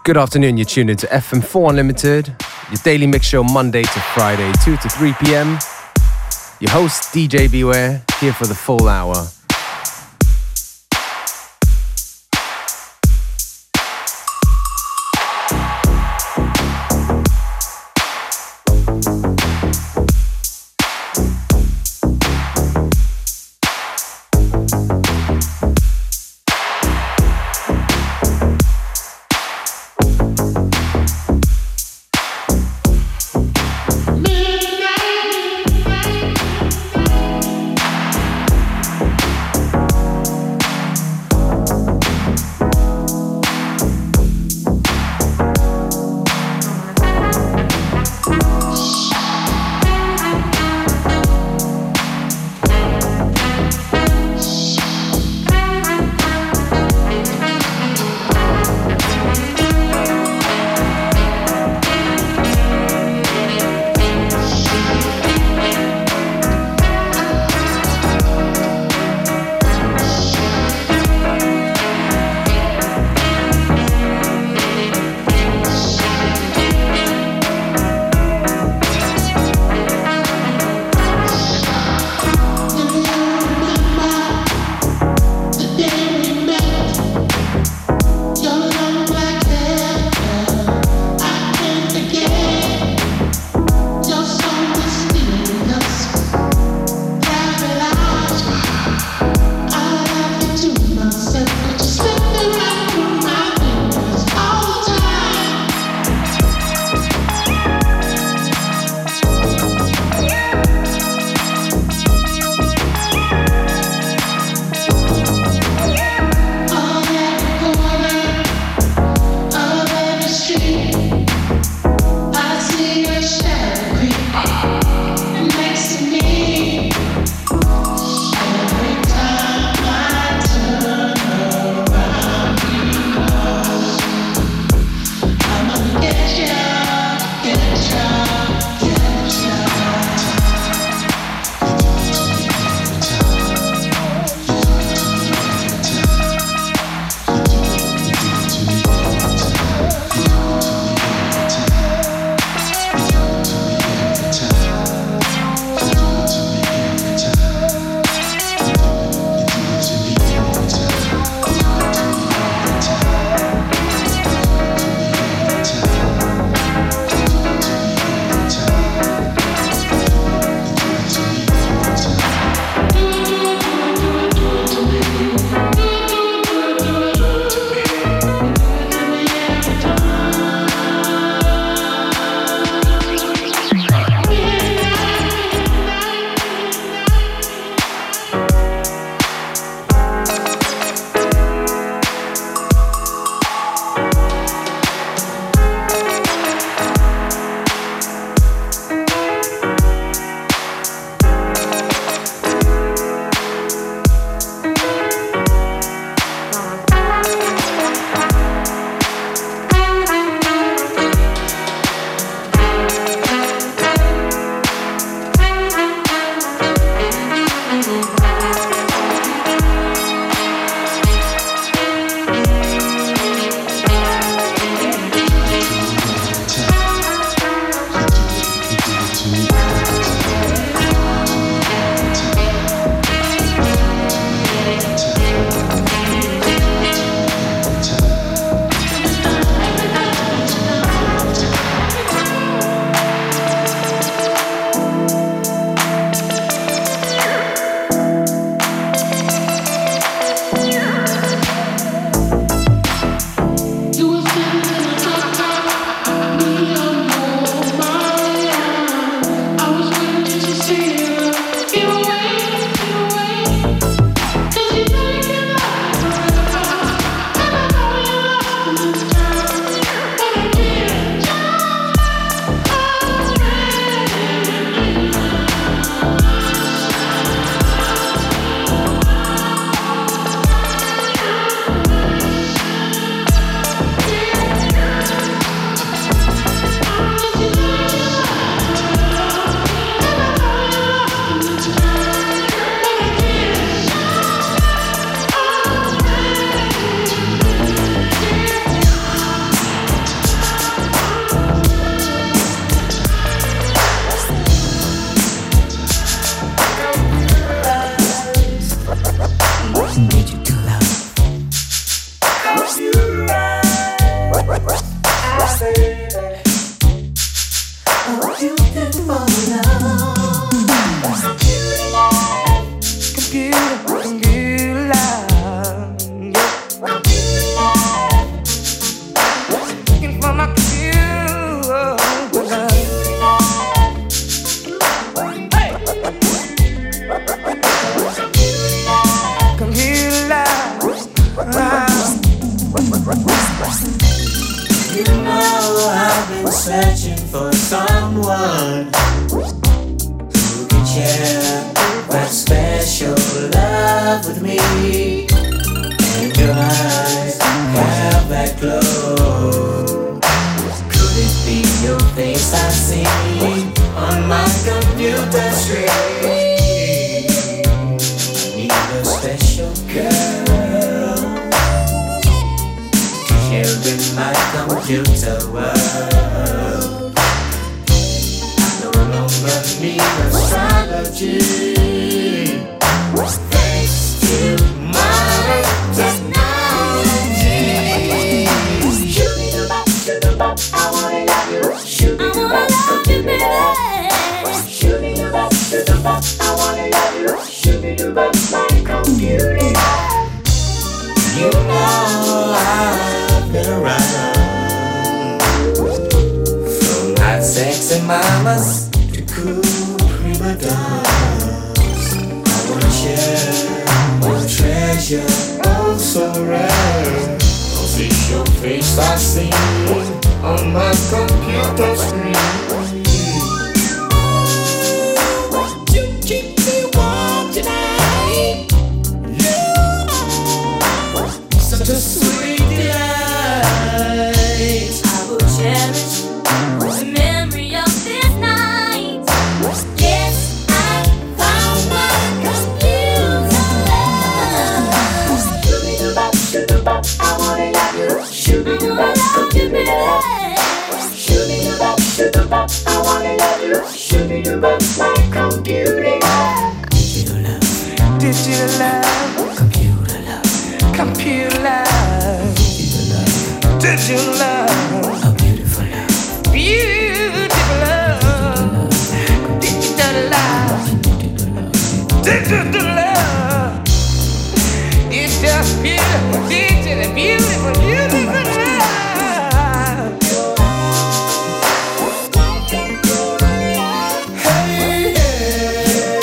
Good afternoon, you're tuned into FM4 Unlimited, your daily mix show Monday to Friday, 2 to 3 p.m. Your host, DJ Beware, here for the full hour. up with me, and your eyes have that glow. Could it be your face I see on my computer screen? Need a special girl to share in my computer world. I no longer need astrology, thanks to modern technology. Shoot-a-bop, shoot-a-bop, I wanna love you. Shoot-a-bop, baby. Shoot-a-bop, shoot-a-bop, I wanna love you. Shoot-a-bop, my computer. You know I've been around, from hot sexy mamas to cool prima donnas. I wanna share a treasure, oh so rare. Cause it's your face I see on my computer screen. Won't you keep me warm tonight? Yeah, such a sweet delight. I will cherish the memory of this night. Yes, I found my computer love. Shoot-a-bop, shoot-a-bop, I wanna love you. Shoot-a-bop, computer. Shoot-a-bop, shoot-a-bop, I wanna love you. Shoot-a-bop, my computer. Digital love, Digital love, computer love, computer love, digital love, digital love, a beautiful love, beautiful love, digital love, digital love. It's just beautiful, digital, beautiful, beautiful love. hey, hey.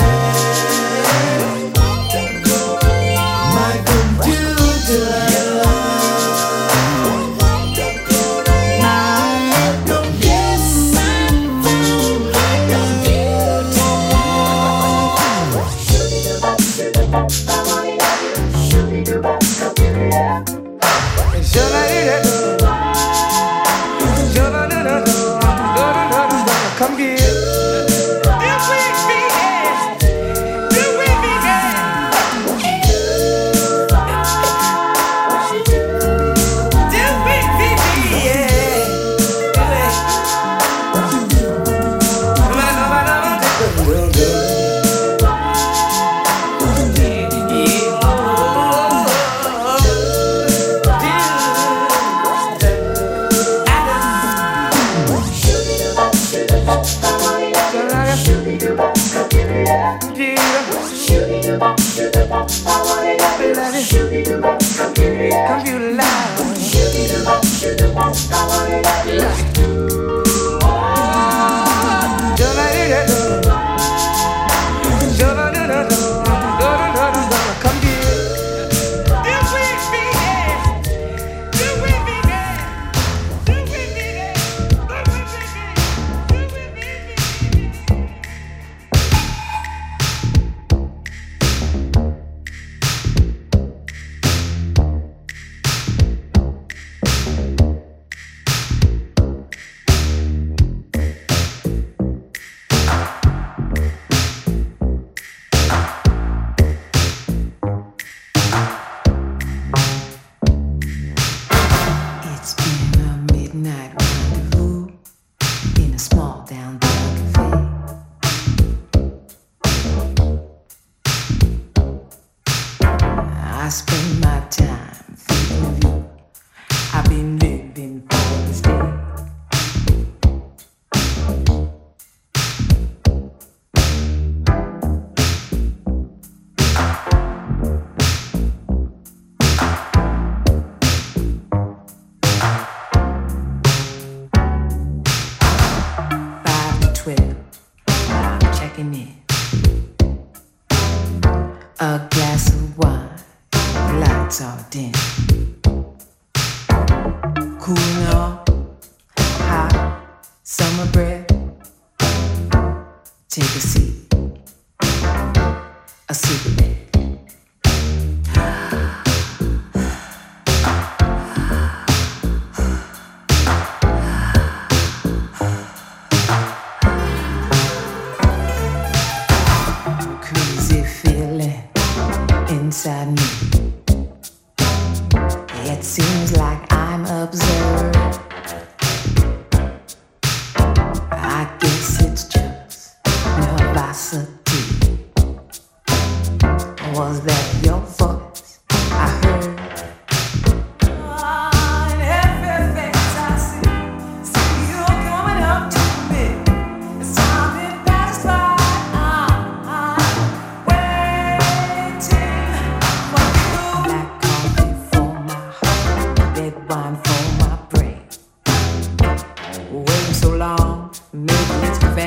My computer love. Yes, I found my computer. Shoot-a-bop, shoot-a-bop, I wanna love you. Shoot-a-bop, computer. Come here. Do we begin? Do we begin? Do we begin? Shoot-a-bop, shoot-a-bop, I wanna love you. Shoot-a-bop, computer. Shoot-a-bop, shoot-a-bop, I wanna love you. Shoot-a-bop, computer. Computer love. Shoot-a-bop, shoot-a-bop, I wanna love you. Come here. Do we begin? Do we begin? Do we begin? Do we begin? It's been a midnight rendezvous in a small downtown cafe. I spend my time thinking of you. I've been living for this day. Checking in. A glass of wine, lights are dim. Cooling off, hot summer breath. Take a seat, a cigarette.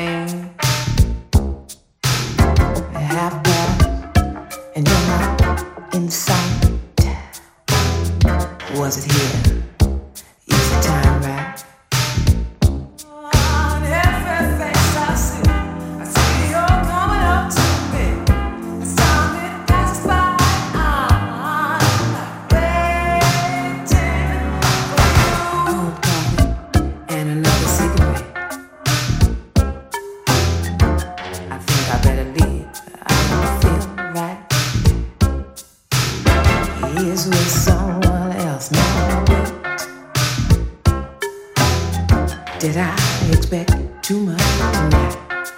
train. Half past, and you're not in sight. Was it here? Is the time right? On every face I see you're coming up to me. As time it passes by, I'm waiting for you. Cold coffee and another cigarette. I think I better leave. I don't feel right. He is with someone else now. Did I expect too much tonight?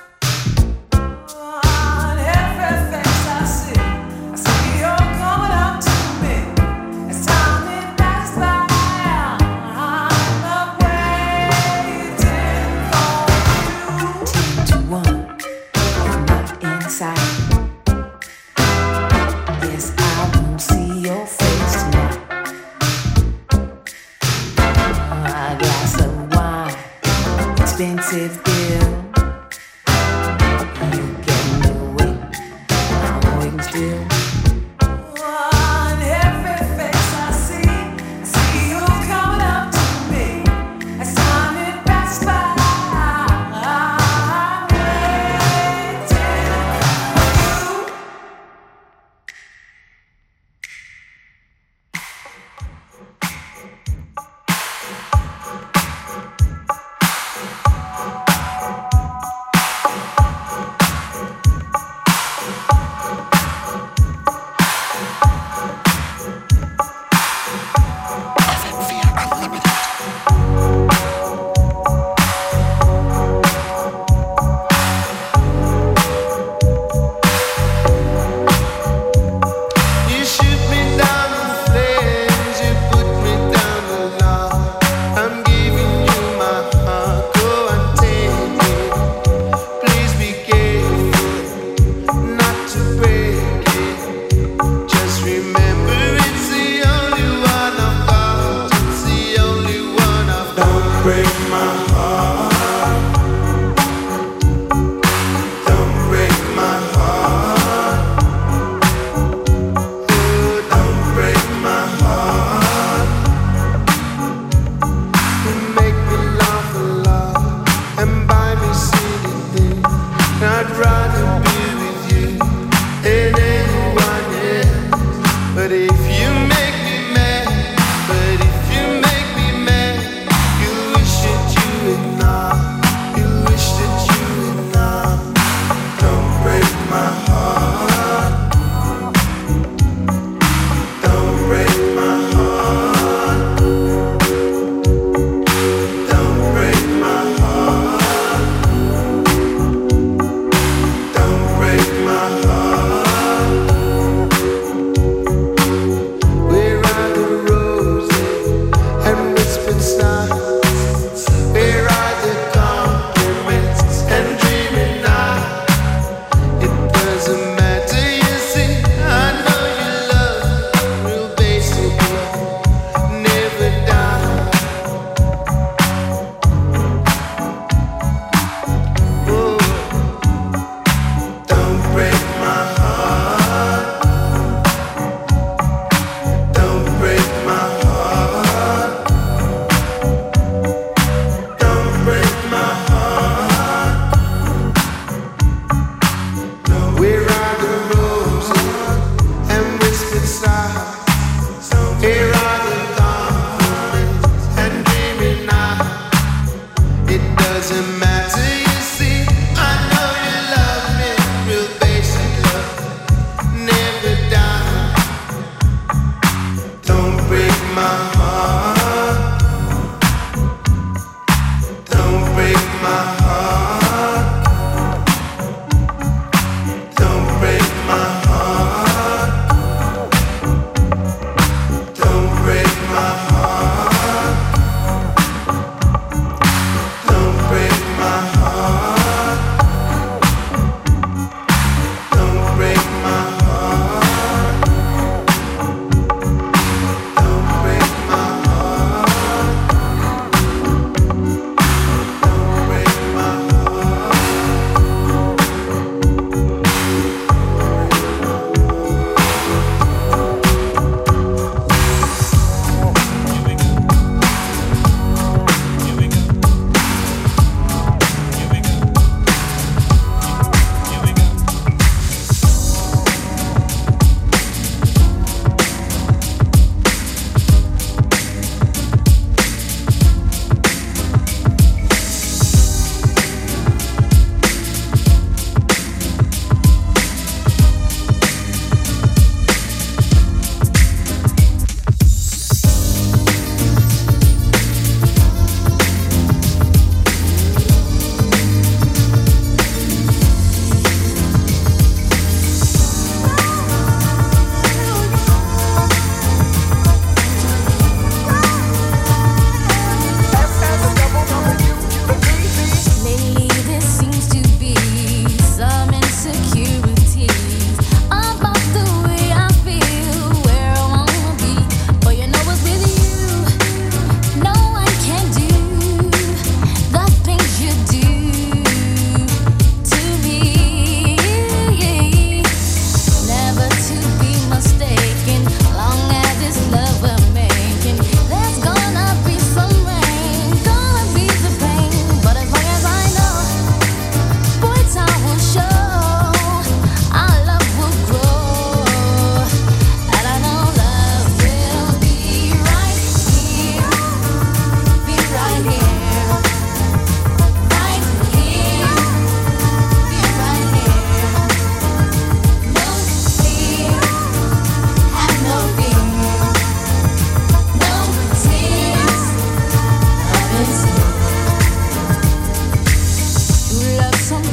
On every face I see you're coming up to me. As time it passes by, I'm waiting for you. 10 to 1, you're not in sight. Yes, I won't see your face tonight. A glass of wine, expensive bill. You get me awake, I'm waiting still. On every face I see you coming up to me. As time it passes by, I'm waiting for you.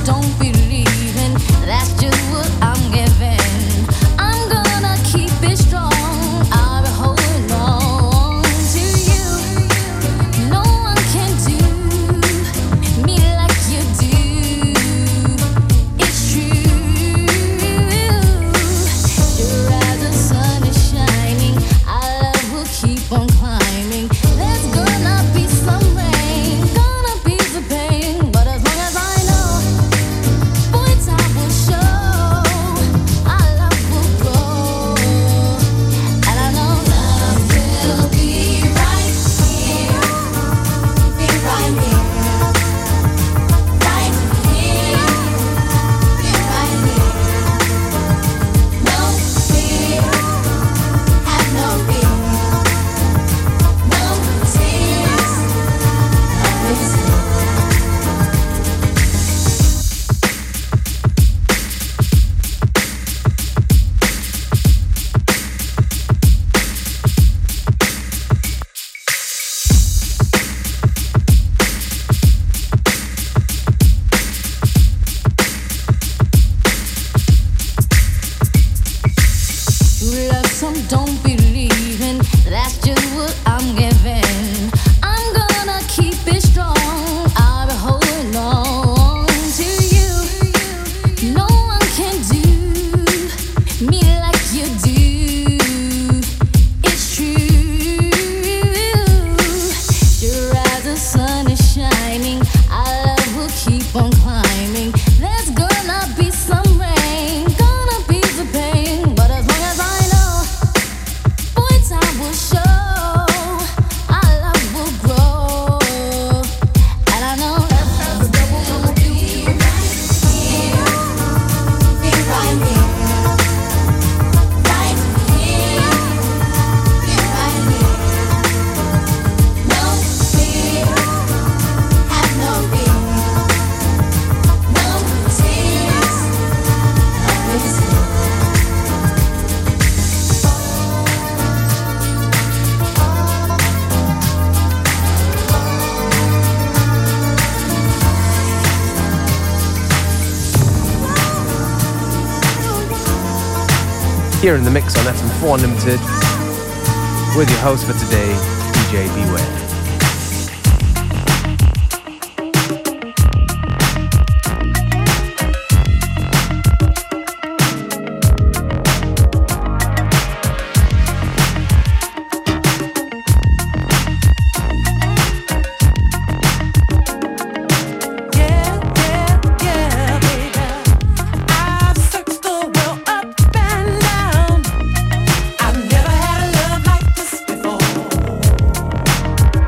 Here in the mix on FM4 Unlimited with your host for today, DJ Beware. I've never had a love like this before.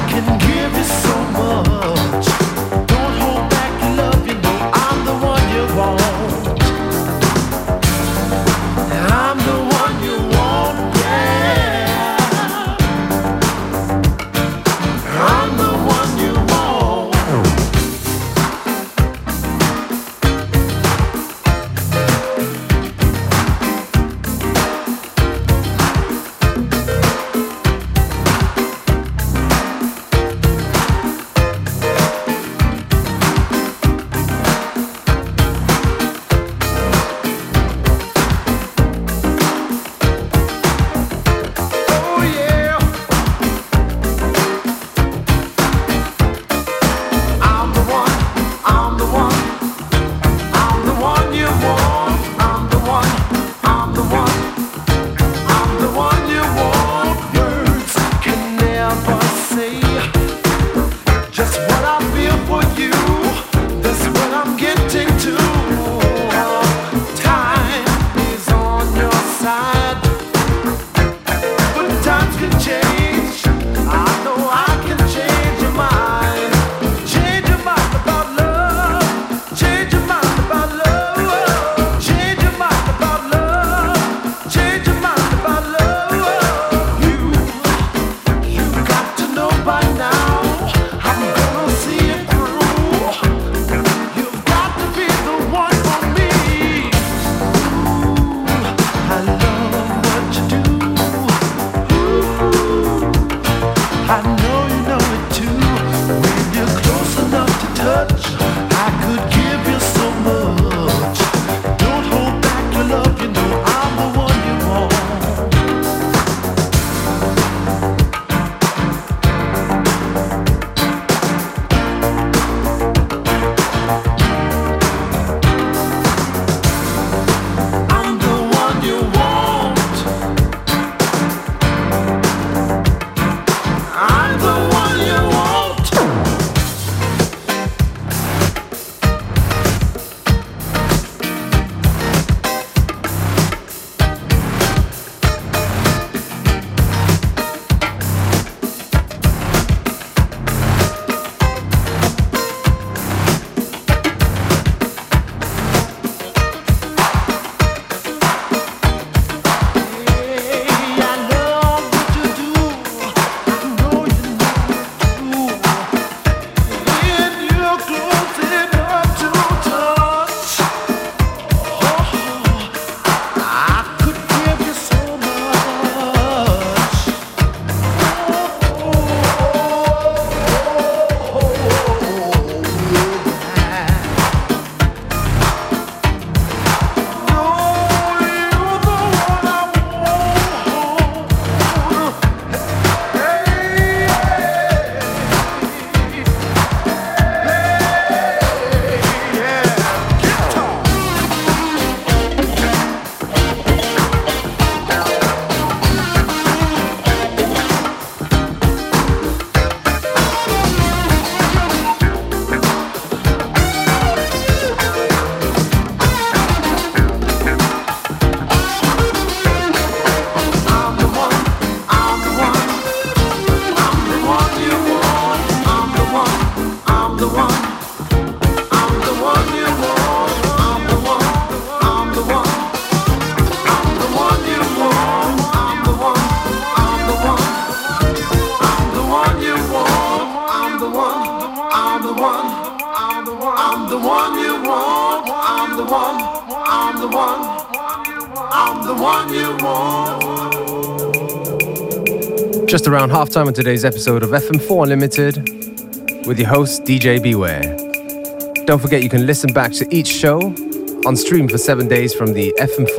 Just around halftime on today's episode of FM4 Unlimited with your host DJ Beware. Don't forget you can listen back to each show on stream for 7 days from the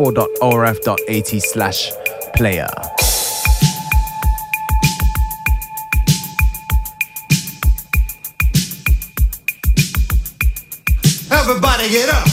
fm4.orf.at/player. Everybody get up.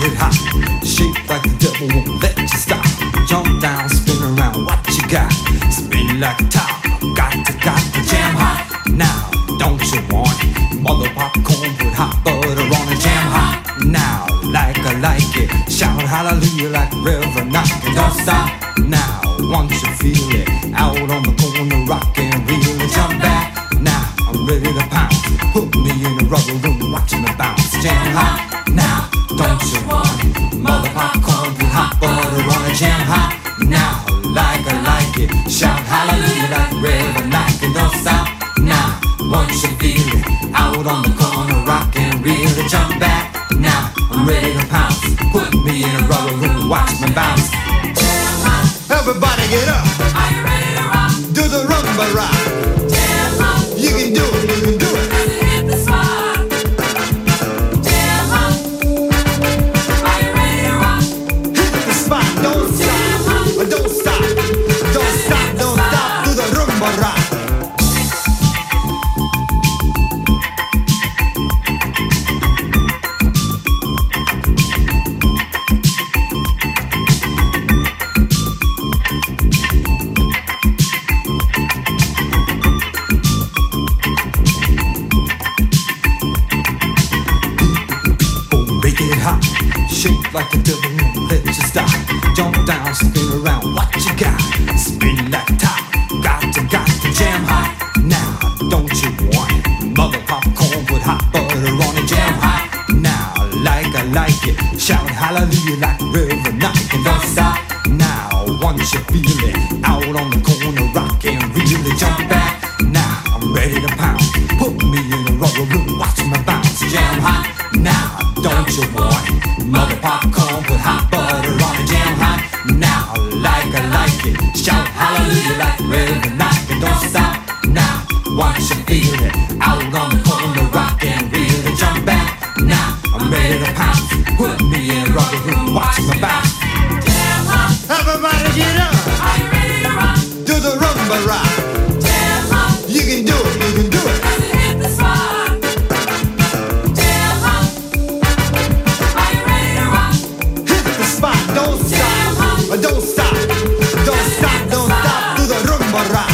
it hot, shake like the devil won't let you stop. Jump down, spin around, what you got? Spin like a top, got to jam hot. Now, don't you want it? Mother popcorn with hot butter on it, jam hot. Now, like I like it, shout hallelujah like a river knocking. Don't stop now, once you feel it, out on the corner rockin', really jump back. Now, I'm ready to pounce, put me in a rubber room, watching me bounce. Jam hot now, don't you want it? Mother popcorn with hot butter on it, jam hot. Now, like I like it, shout hallelujah like a river knocking. Don't stop now, once you feel it, out on the corner rockin', really jump back. Now, I'm ready to pounce, put me in a rubber room, watch me bounce. Jam hot. Everybody get up, Are you ready to rock? do the rumba rock. Jam hot. You can do it, you can do it. Cause it hit the spot. Jam hot. Are you ready to rock? Hit the spot, don't stop, don't stop, don't stop, don't stop, do the rumba rock. Make it hot, shake like the devil won't let you stop. Jump down, spin around, what you got? Spin like a top, got to jam hot. Now, don't you want it? Mother popcorn with hot butter on it, jam hot. Now, like I like it, shout hallelujah like a river knocking. Don't stop now, once you feel it, out on the corner rockin', really jump back. Now, I'm ready to pounce, put me in a rubber room, watch me bounce. Jam hot now, don't you want it? Mother popcorn with hot butter on it, jam hot. Now, like I like it, shout hallelujah like a river knocking. Don't stop now, once you feel it, out on the corner rockin', really jump back. Now, I'm ready to pounce, put me in a rubber room, watch me bounce. Jam hot. Everybody get up, Are you ready to rock? do the rumba rock. Jam hot. You can do it, you can do it. Cause it hit the spot. Jam hot. Are you ready to rock? Hit the spot, don't stop, don't stop, don't stop, don't stop, do the rumba rock.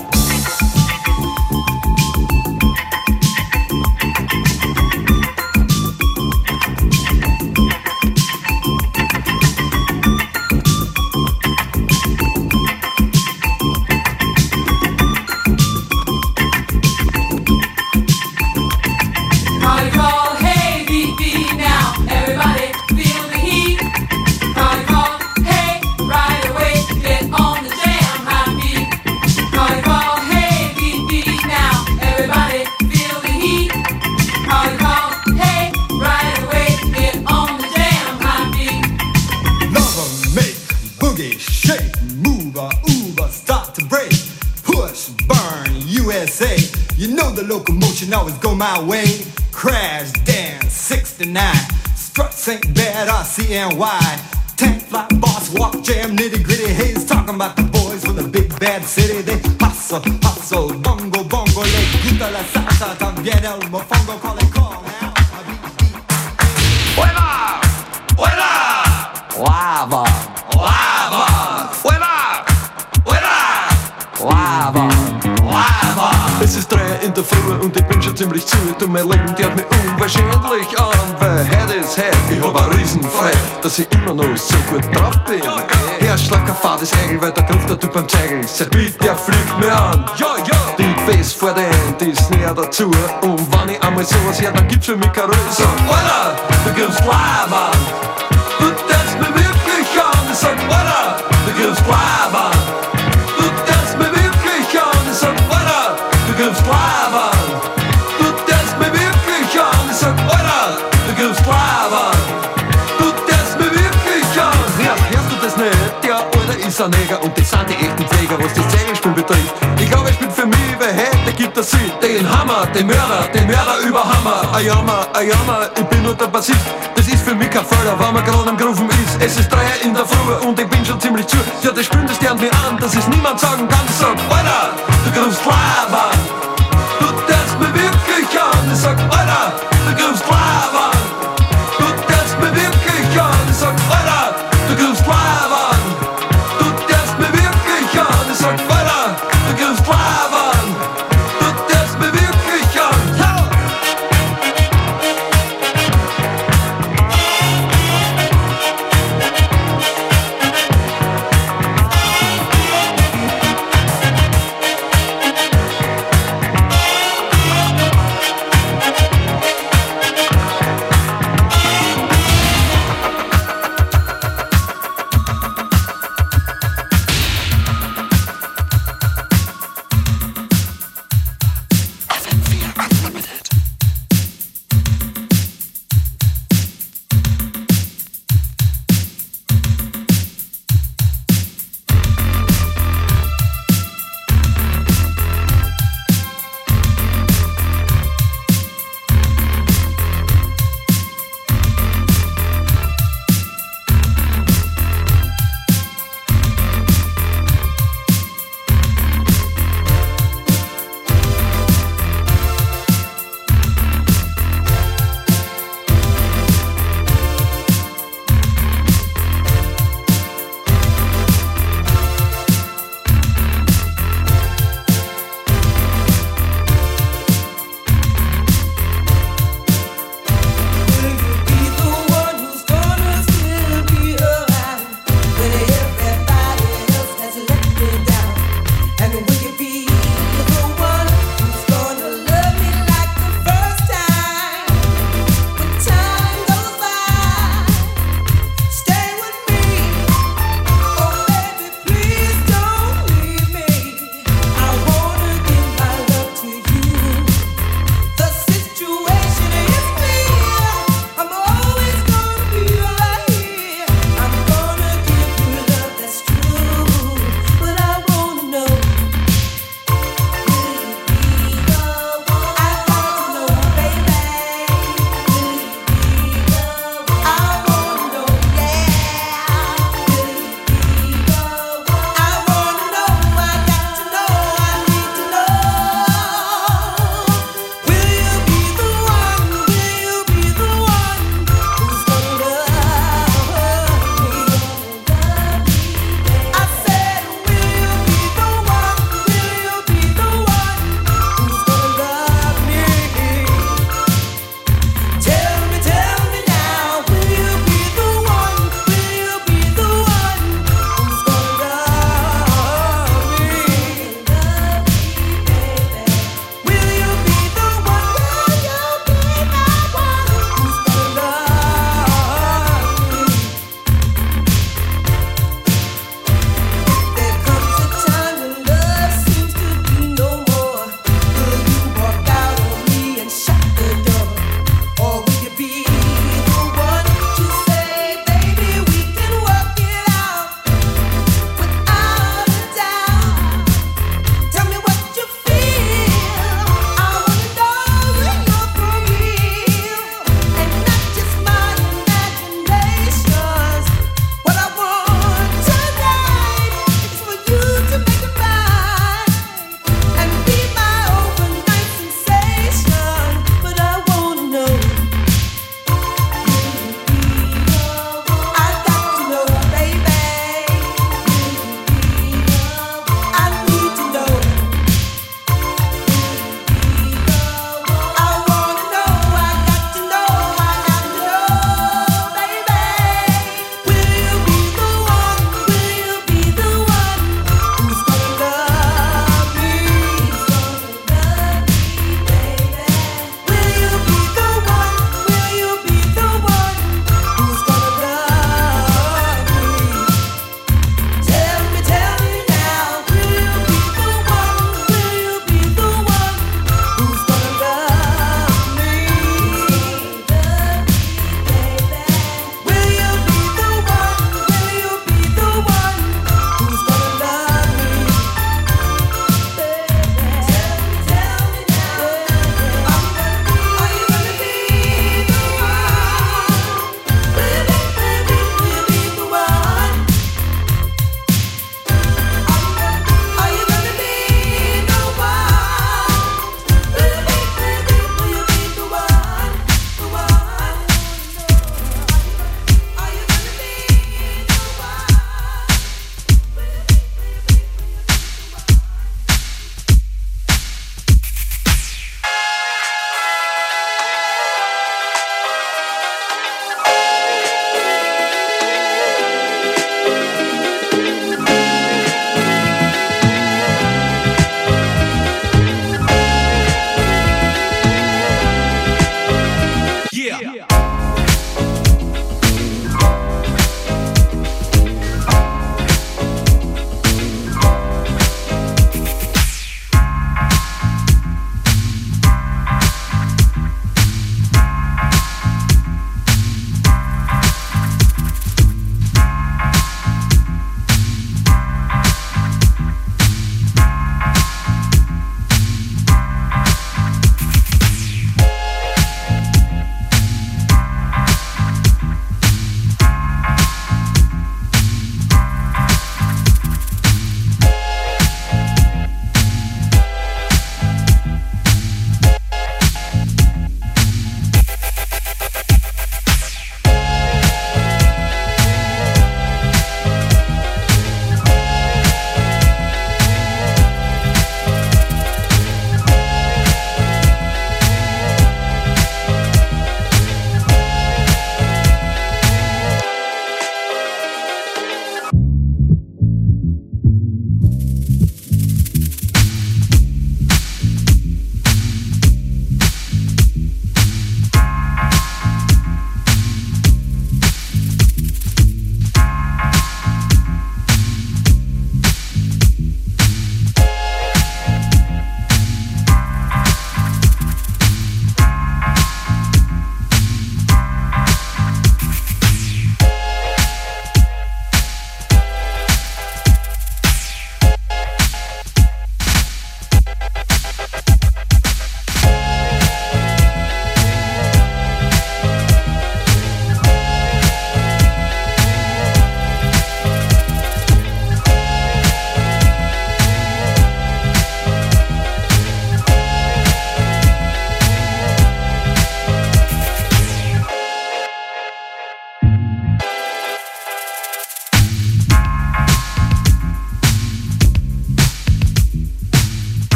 Party call, hey, beat, beat now. Everybody feel the heat. Party call, hey, right away, get on the jam hot beat. Party call, hey, beat, beat now. Everybody feel the heat. Party call, hey, right away, get on the jam hot beat. Lover, make, boogie, shake, move, start to break, push, burn, USA. You know the locomotion always go my way. Crash, dance, 69. Struts ain't bad, RCNY. Tank, fly, boss, walk, jam, nitty gritty. Hayes talking about the boys from the big bad city. They hustle, hustle, bongo, bongo. Le gusta la salsa, también el mofongo. Call it call now. ¡Fuera! ¡Fuera! Lava, ¡Lava! ¡Fuera! ¡Fuera! lava. ¡Lava! Es ist 3 in der Früh und ich bin schon ziemlich zu. Und mein Leben geht mir unwahrscheinlich an, weil heute ist heute. Ich hab ein Riesenfrei, dass ich immer noch so gut drauf bin. Herzschlag, fahr das Eigel, weil da ruft der Typ am Zeigel. Seit bitte, der fliegt mir an. Ja, ja. Die Bass vor der Hand ist näher dazu. Und wenn ich einmal sowas her, dann gibt's für mich keine Ruhe. Sag, Alter, du gibst Lava. Du tanzt mir wirklich an. Ich sag, Alter, du gibst Lava. Du tanzt mir wirklich an. Ich sag, Alter, du gibst Lava. Du tanzt mir wirklich an. Ich sag, Alter, du gibst Lava. Du tanzt mir wirklich an. Ja, hörst du das nicht? Der Alter ist ein Neger und das sind die echten Pfleger, was das Zeigelspiel betrifft. Ich glaube, ich bin für mich, weil heute gibt es sie. Den Hammer, den Mörder über Hammer. Ayama, ich bin nur der Bassist. Das ist für mich kein Fehler, wenn man gerade am Grufen ist. Es ist 3 in der Früh und ich bin schon ziemlich zu. Ja, das spürt das Stern mir an, dass es niemand sagen kann. Sag, Alter, du grufst klar.